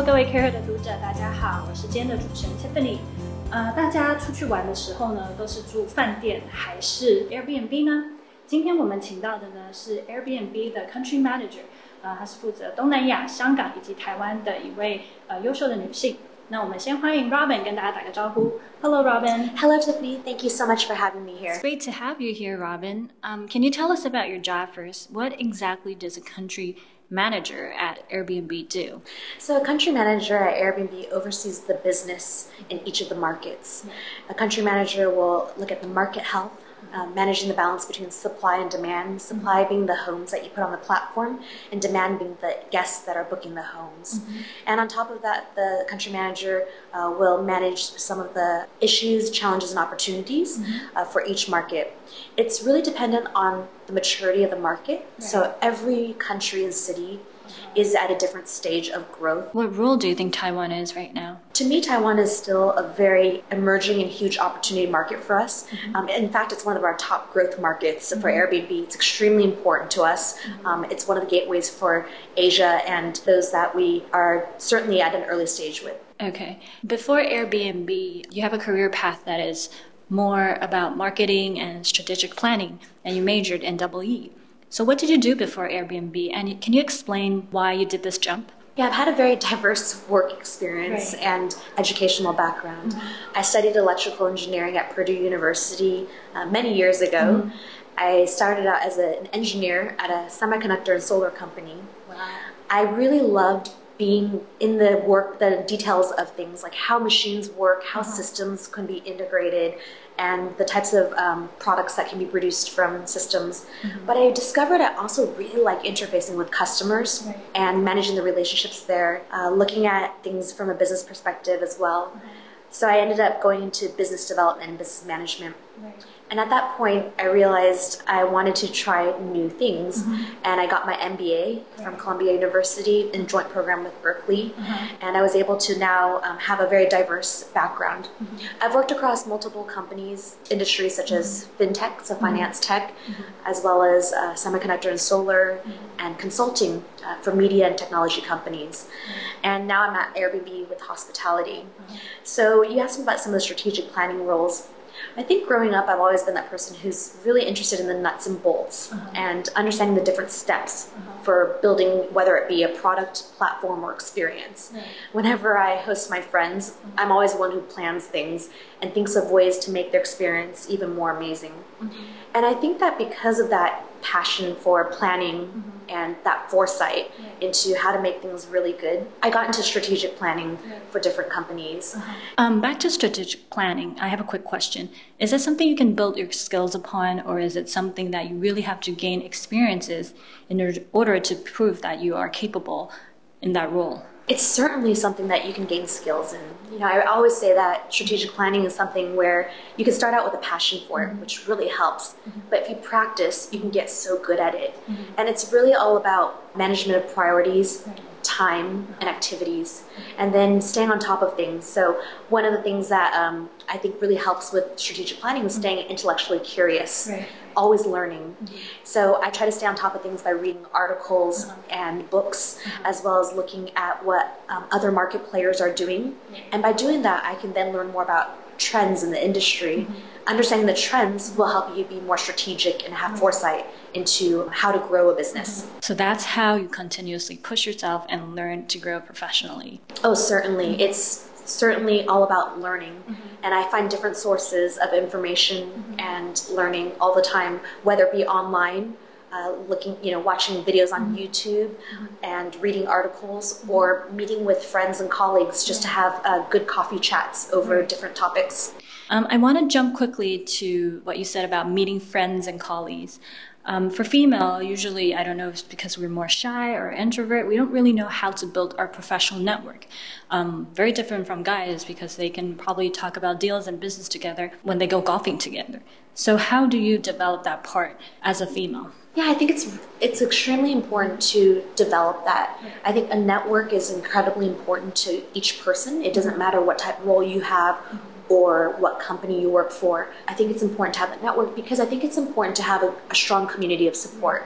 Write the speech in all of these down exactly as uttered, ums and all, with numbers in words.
各位 Care 的读者，大家好，我是今天的主持人 Tiffany。呃，大家出去玩的时候呢，都是住饭店还是 Airbnb 呢？今天我们请到的呢是 Airbnb 的 Country Manager， 呃，她是负责东南亚、香港以及台湾的一位呃优秀的女性。那我们先欢迎 Robin 跟大家打个招呼。Hello, Robin. Hello, Tiffany. Thank you so much for having me here. It's great to have you here, Robin. Um, can you tell us about your job first? What exactly does a country manager at Airbnb do? So a country manager at Airbnb oversees the business in each of the markets. A country manager will look at the market health, Uh, managing the balance between supply and demand, supply mm-hmm. being the homes that you put on the platform, and demand being the guests that are booking the homes. Mm-hmm. And on top of that, the country manager uh, will manage some of the issues, challenges, and opportunities mm-hmm. uh, for each market. It's really dependent on the maturity of the market. Right. So every country and city is at a different stage of growth. What role do you think Taiwan is right now? To me, Taiwan is still a very emerging and huge opportunity market for us. Mm-hmm. Um, in fact, it's one of our top growth markets mm-hmm. for Airbnb. It's extremely important to us. Mm-hmm. Um, it's one of the gateways for Asia and those that we are certainly at an early stage with. Okay. Before Airbnb, you have a career path that is more about marketing and strategic planning, and you majored in double E. So what did you do before Airbnb, and can you explain why you did this jump? Yeah, I've had a very diverse work experience right. and educational background. Mm-hmm. I studied electrical engineering at Purdue University uh, many years ago. Mm-hmm. I started out as a, an engineer at a semiconductor and solar company. Wow. I really loved being in the work, the details of things like how machines work, how uh-huh. systems can be integrated, and the types of um, products that can be produced from systems. Mm-hmm. But I discovered I also really like interfacing with customers right. and managing the relationships there, uh, looking at things from a business perspective as well. Mm-hmm. So I ended up going into business development and business management. Right. And at that point, I realized I wanted to try new things. Mm-hmm. And I got my M B A right. from Columbia University in joint program with Berkeley. Mm-hmm. And I was able to now um, have a very diverse background. Mm-hmm. I've worked across multiple companies, industries such mm-hmm. as fintech, so finance mm-hmm. tech, mm-hmm. as well as uh, semiconductor and solar, mm-hmm. and consulting uh, for media and technology companies. Mm-hmm. And now I'm at Airbnb with hospitality. Mm-hmm. So you asked me about some of the strategic planning roles. I think growing up, I've always been that person who's really interested in the nuts and bolts uh-huh. and understanding the different steps uh-huh. for building, whether it be a product, platform, or experience. Right. Whenever I host my friends, uh-huh. I'm always the one who plans things and thinks of ways to make their experience even more amazing. Mm-hmm. And I think that because of that passion for planning mm-hmm. and that foresight right. into how to make things really good, I got into strategic planning right. for different companies. Uh-huh. Um, back to strategic planning, I have a quick question. Is that something you can build your skills upon, or is it something that you really have to gain experiences in order to prove that you are capable in that role? It's certainly something that you can gain skills in. You know, I always say that strategic planning is something where you can start out with a passion for it, mm-hmm. which really helps. Mm-hmm. But if you practice, you can get so good at it. Mm-hmm. And it's really all about management of priorities, right. time, and activities, and then staying on top of things. So one of the things that um, I think really helps with strategic planning is staying intellectually curious, right. always learning. Mm-hmm. So I try to stay on top of things by reading articles uh-huh. and books, uh-huh. as well as looking at what um, other market players are doing. Mm-hmm. And by doing that, I can then learn more about trends in the industry. Mm-hmm. Understanding the trends will help you be more strategic and have mm-hmm. foresight into how to grow a business. Mm-hmm. So that's how you continuously push yourself and learn to grow professionally. Oh, certainly. Mm-hmm. It's certainly all about learning. Mm-hmm. And I find different sources of information mm-hmm. and learning all the time, whether it be online, uh, looking, you know, watching videos on mm-hmm. YouTube mm-hmm. and reading articles, mm-hmm. or meeting with friends and colleagues just yeah. to have uh, good coffee chats over mm-hmm. different topics. Um, I want to jump quickly to what you said about meeting friends and colleagues. Um, for female, usually, I don't know if it's because we're more shy or introvert, we don't really know how to build our professional network. Um, very different from guys because they can probably talk about deals and business together when they go golfing together. So how do you develop that part as a female? Yeah, I think it's it's extremely important to develop that. I think a network is incredibly important to each person. It doesn't matter what type of role you have or what company you work for. I think it's important to have a network because I think it's important to have a, a strong community of support.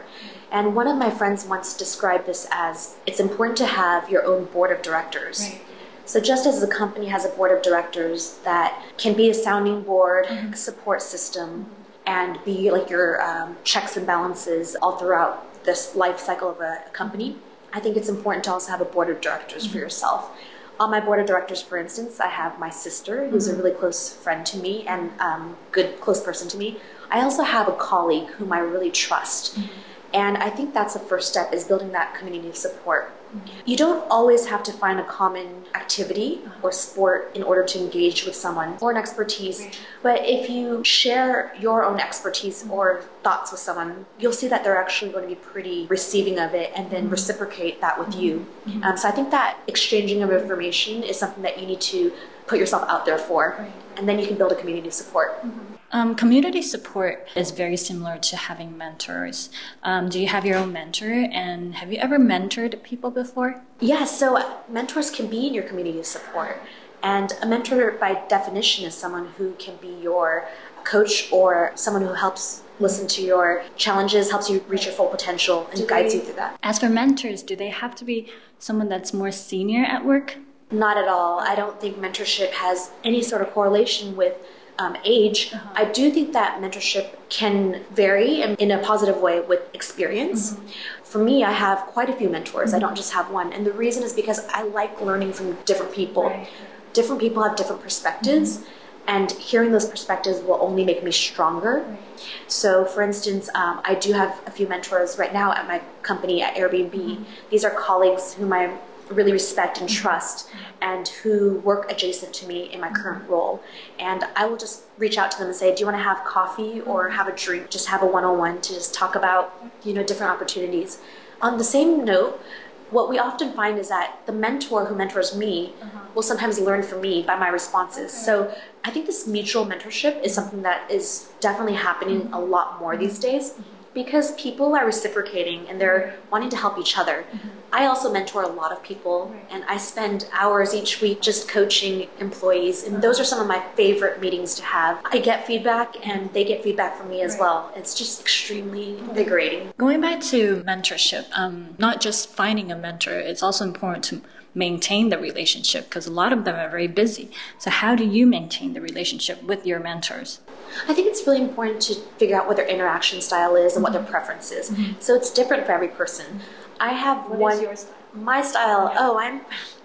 And one of my friends once described this as, it's important to have your own board of directors. Right. So just as the company has a board of directors that can be a sounding board, mm-hmm. a support system, mm-hmm. and be like your um, checks and balances all throughout this life cycle of a, a company, I think it's important to also have a board of directors mm-hmm. for yourself. On my board of directors, for instance, I have my sister, who's mm-hmm. a really close friend to me and um, good, close person to me. I also have a colleague whom I really trust. Mm-hmm. And I think that's the first step, is building that community of support. Mm-hmm. You don't always have to find a common activity or sport in order to engage with someone or an expertise. Right. But if you share your own expertise mm-hmm. or thoughts with someone, you'll see that they're actually going to be pretty receiving of it and then mm-hmm. reciprocate that with mm-hmm. you. Mm-hmm. Um, so I think that exchanging of information is something that you need to put yourself out there for. Right. And then you can build a community of support. Mm-hmm. Um, community support is very similar to having mentors. Um, do you have your own mentor, and have you ever mentored people before? Yeah, so mentors can be in your community of support. And a mentor, by definition, is someone who can be your coach or someone who helps listen to your challenges, helps you reach your full potential, and do guides they, you through that. As for mentors, do they have to be someone that's more senior at work? Not at all. I don't think mentorship has any sort of correlation with Um, age. Uh-huh. I do think that mentorship can vary in, in a positive way with experience. Mm-hmm. For me, I have quite a few mentors. Mm-hmm. I don't just have one. And the reason is because I like learning from different people. Right. Different people have different perspectives, mm-hmm. and hearing those perspectives will only make me stronger. Right. So for instance, um, I do have a few mentors right now at my company at Airbnb. Mm-hmm. These are colleagues whom I really respect and trust, and who work adjacent to me in my current role. And I will just reach out to them and say, do you want to have coffee or have a drink? Just have a one-on-one to just talk about, you know, different opportunities. On the same note, what we often find is that the mentor who mentors me uh-huh. will sometimes learn from me by my responses. Okay. So I think this mutual mentorship is something that is definitely happening mm-hmm. a lot more mm-hmm. these days, because people are reciprocating and they're wanting to help each other. Mm-hmm. I also mentor a lot of people, right. and I spend hours each week just coaching employees, and uh-huh. those are some of my favorite meetings to have. I get feedback and they get feedback from me as right. well. It's just extremely invigorating. Going back to mentorship, um, not just finding a mentor, it's also important to maintain the relationship, because a lot of them are very busy. So how do you maintain the relationship with your mentors? I think it's really important to figure out what their interaction style is and mm-hmm. what their preference is. Mm-hmm. So it's different for every person. I have what one. Is your style? My style. Yeah. Oh, I'm.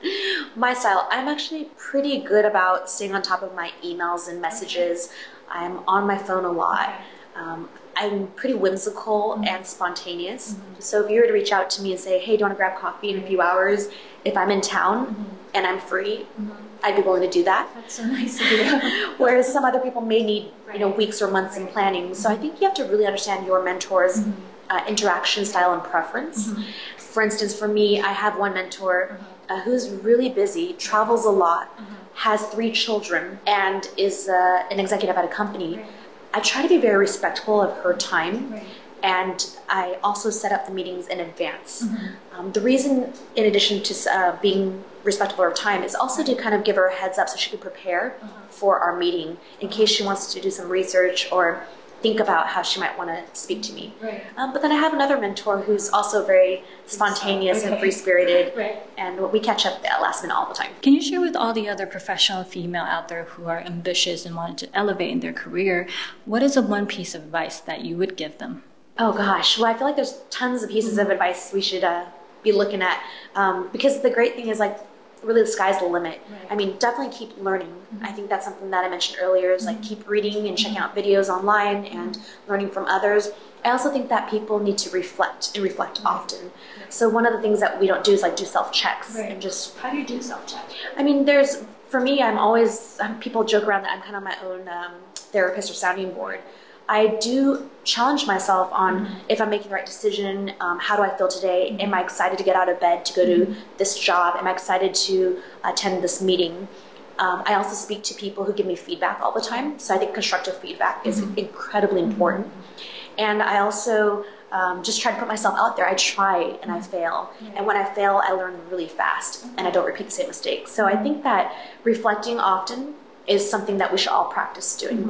My style. I'm actually pretty good about staying on top of my emails and messages. Okay. I'm on my phone a lot. Okay. Um, I'm pretty whimsical mm-hmm. and spontaneous. Mm-hmm. So if you were to reach out to me and say, hey, do you want to grab coffee in a few hours? If I'm in town mm-hmm. and I'm free, mm-hmm. I'd be willing to do that. That's so nice of you. Whereas some other people may need, right. you know, weeks or months right. in planning. So mm-hmm. I think you have to really understand your mentor's mm-hmm. uh, interaction style and preference. Mm-hmm. For instance, for me, I have one mentor mm-hmm. uh, who's really busy, travels a lot, mm-hmm. has three children, and is uh, an executive at a company. Right. I try to be very respectful of her time. Right. And I also set up the meetings in advance. Mm-hmm. Um, the reason, in addition to uh, being respectful of her time, is also to kind of give her a heads up so she can prepare uh-huh. for our meeting in case she wants to do some research or think about how she might want to speak to me. Right. Um, but then I have another mentor who's also very spontaneous okay. and free-spirited, right. and we catch up at last minute all the time. Can you share with all the other professional female out there who are ambitious and want to elevate in their career, what is the one piece of advice that you would give them? Oh gosh, well I feel like there's tons of pieces mm-hmm. of advice we should uh, be looking at, um, because the great thing is, like, really the sky's the limit. Right. I mean, definitely keep learning. Mm-hmm. I think that's something that I mentioned earlier, is like keep reading and checking out videos online and learning from others. I also think that people need to reflect and reflect right. often. Right. So one of the things that we don't do is like do self-checks right. and just... How do you do self-checks? I mean, there's, for me, I'm always, um, people joke around that I'm kind of my own um, therapist or sounding board. I do challenge myself on mm-hmm. if I'm making the right decision, um, how do I feel today? Mm-hmm. Am I excited to get out of bed to go mm-hmm. to this job? Am I excited to attend this meeting? Um, I also speak to people who give me feedback all the time. So I think constructive feedback is mm-hmm. incredibly important. Mm-hmm. And I also um, just try to put myself out there. I try and I fail. Mm-hmm. And when I fail, I learn really fast mm-hmm. and I don't repeat the same mistakes. So I think that reflecting often is something that we should all practice doing mm-hmm. more.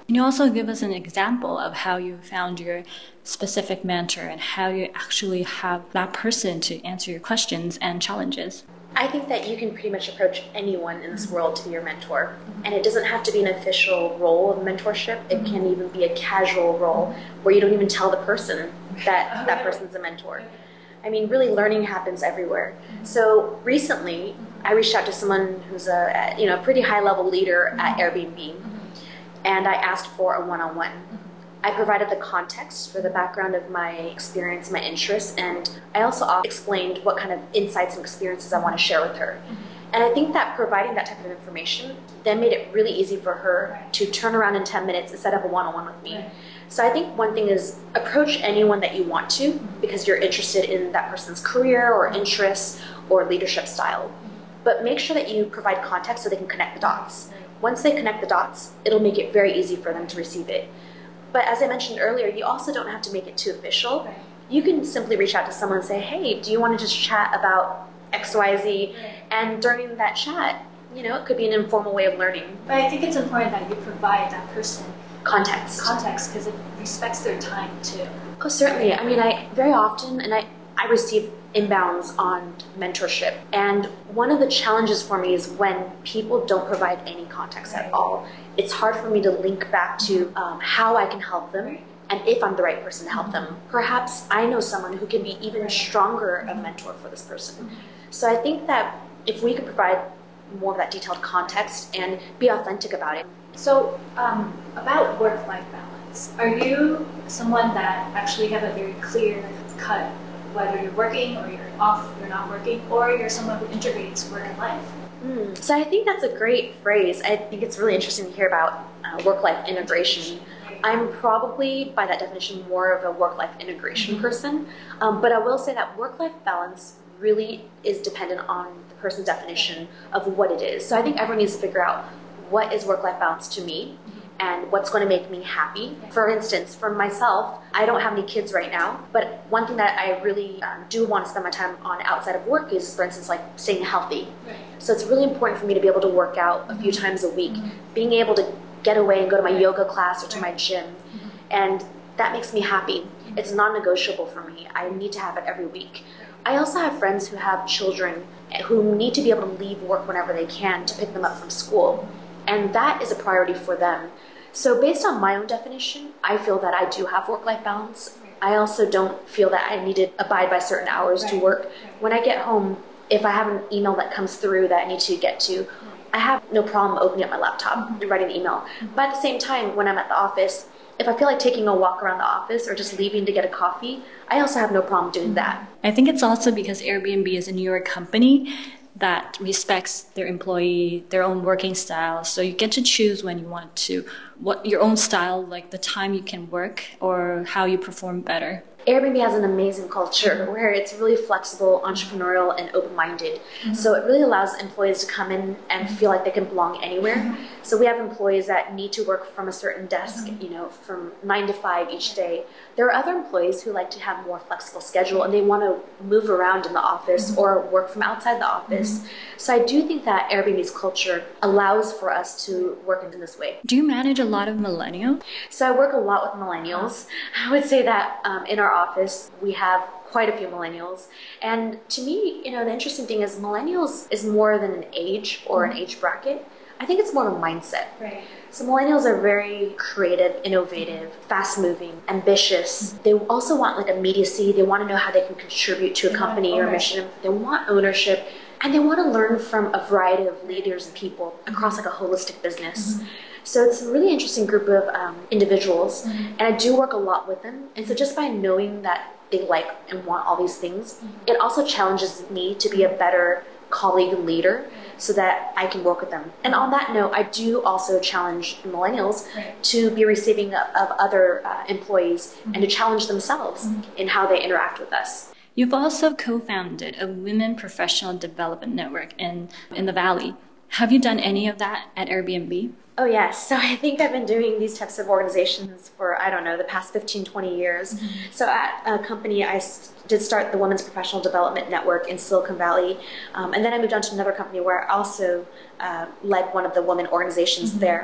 Can you also give us an example of how you found your specific mentor and how you actually have that person to answer your questions and challenges? I think that you can pretty much approach anyone in this world to be your mentor. And it doesn't have to be an official role of mentorship. It can even be a casual role where you don't even tell the person that that person's a mentor. I mean, really learning happens everywhere. So recently, I reached out to someone who's a you know pretty high-level leader at Airbnb, and I asked for a one-on-one. I provided the context for the background of my experience, my interests, and I also explained what kind of insights and experiences I want to share with her. And I think that providing that type of information then made it really easy for her to turn around in ten minutes and set up a one-on-one with me. So I think one thing is approach anyone that you want to because you're interested in that person's career or interests or leadership style. But make sure that you provide context so they can connect the dots. Once they connect the dots, it'll make it very easy for them to receive it. But as I mentioned earlier, you also don't have to make it too official. Right. You can simply reach out to someone and say, hey, do you want to just chat about X Y Z? Right. And during that chat, you know, it could be an informal way of learning. But I think it's important that you provide that person context. Context, because it respects their time too. Oh, certainly. I mean, I very often, and I, I receive inbounds on mentorship. And one of the challenges for me is when people don't provide any context at all. It's hard for me to link back to um, how I can help them and if I'm the right person to help them. Perhaps I know someone who can be even stronger a mentor for this person. So I think that if we could provide more of that detailed context and be authentic about it. So um, about work-life balance, are you someone that actually have a very clear cut, whether you're working or you're off, you're not working, or you're someone who integrates work and life? Mm. So I think that's a great phrase. I think it's really interesting to hear about uh, work-life integration. I'm probably, by that definition, more of a work-life integration mm-hmm. person. Um, but I will say that work-life balance really is dependent on the person's definition of what it is. So I think everyone needs to figure out what is work-life balance to me and what's going to make me happy. For instance, for myself, I don't have any kids right now, but one thing that I really um, do want to spend my time on outside of work is, for instance, like staying healthy. Right. So it's really important for me to be able to work out a few times a week, mm-hmm. being able to get away and go to my yoga class or to my gym, mm-hmm. and that makes me happy. Mm-hmm. It's non-negotiable for me. I need to have it every week. I also have friends who have children who need to be able to leave work whenever they can to pick them up from school, and that is a priority for them. So based on my own definition, I feel that I do have work-life balance. I also don't feel that I need to abide by certain hours right. to work. Right. When I get home, if I have an email that comes through that I need to get to, I have no problem opening up my laptop and writing an email. But at the same time, when I'm at the office, if I feel like taking a walk around the office or just leaving to get a coffee, I also have no problem doing that. I think it's also because Airbnb is a newer company that respects their employee, their own working style. So you get to choose when you want to, what your own style, like the time you can work or how you perform better. Airbnb has an amazing culture where it's really flexible, entrepreneurial, and open-minded. Mm-hmm. So it really allows employees to come in and feel like they can belong anywhere. Mm-hmm. So we have employees that need to work from a certain desk, mm-hmm. you know, from nine to five each day. There are other employees who like to have more flexible schedule and they want to move around in the office mm-hmm. or work from outside the office. Mm-hmm. So I do think that Airbnb's culture allows for us to work in this way. Do you manage a lot of millennials? So I work a lot with millennials. I would say that um, in our office, we have quite a few millennials. And to me, you know, the interesting thing is millennials is more than an age or an age bracket. I think it's more of a mindset. Right. So millennials are very creative, innovative, fast-moving, ambitious. They also want like immediacy. They want to know how they can contribute to a company or a mission. They want ownership. And they want to learn from a variety of leaders and people across like a holistic business. Mm-hmm. So it's a really interesting group of um, individuals, mm-hmm. and I do work a lot with them. And so just by knowing that they like and want all these things, mm-hmm. it also challenges me to be a better colleague and leader so that I can work with them. And on that note, I do also challenge millennials right. to be receiving of, of other uh, employees mm-hmm. and to challenge themselves mm-hmm. in how they interact with us. You've also co-founded a Women Professional Development Network in, in the Valley. Have you done any of that at Airbnb? Oh, yes. So I think I've been doing these types of organizations for, I don't know, the past fifteen, twenty years. Mm-hmm. So at a company, I did start the Women's Professional Development Network in Silicon Valley. Um, and then I moved on to another company where I also uh, led one of the women organizations mm-hmm. there.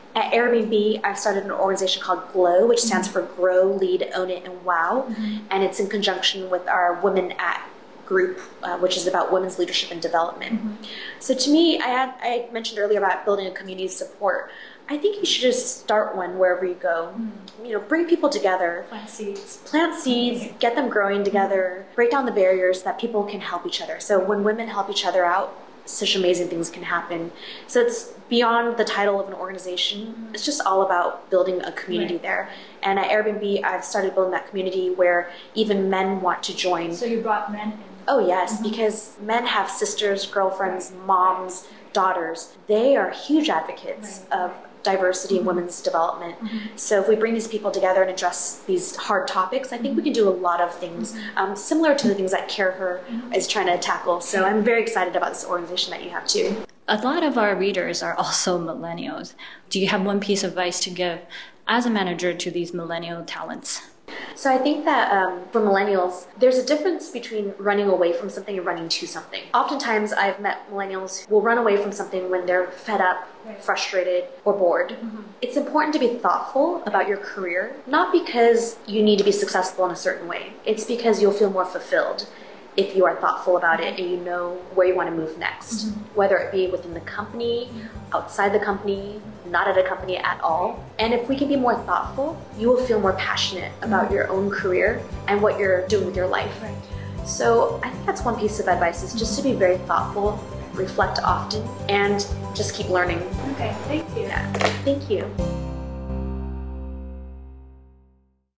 At Airbnb, I've started an organization called GLOW, which stands for Grow, Lead, Own It, and Wow. Mm-hmm. And it's in conjunction with our Women At group, uh, which is about women's leadership and development. Mm-hmm. So to me, I had I mentioned earlier about building a community of support. I think you should just start one wherever you go. Mm-hmm. You know, bring people together. Plant seeds. Plant seeds, mm-hmm. get them growing together, mm-hmm. break down the barriers that people can help each other. So when women help each other out, such amazing things can happen. So it's beyond the title of an organization. Mm-hmm. It's just all about building a community right. there. And at Airbnb, I've started building that community where even men want to join. So you brought men in? Oh yes, mm-hmm. because men have sisters, girlfriends, moms, daughters. They are huge advocates right. of diversity mm-hmm. and women's development. Mm-hmm. So if we bring these people together and address these hard topics, I think mm-hmm. we can do a lot of things mm-hmm. um, similar to the things that CareHer mm-hmm. is trying to tackle. So I'm very excited about this organization that you have too. A lot of our readers are also millennials. Do you have one piece of advice to give as a manager to these millennial talents? So I think that um, for millennials, there's a difference between running away from something and running to something. Oftentimes I've met millennials who will run away from something when they're fed up, right. frustrated, or bored. Mm-hmm. It's important to be thoughtful about your career, not because you need to be successful in a certain way. It's because you'll feel more fulfilled if you are thoughtful about it and you know where you want to move next, mm-hmm. whether it be within the company, outside the company, not at a company at all. And if we can be more thoughtful, you will feel more passionate about mm-hmm. your own career and what you're doing with your life. Right. So I think that's one piece of advice, is just to be very thoughtful, reflect often, and just keep learning. Okay, thank you. Yeah, thank you.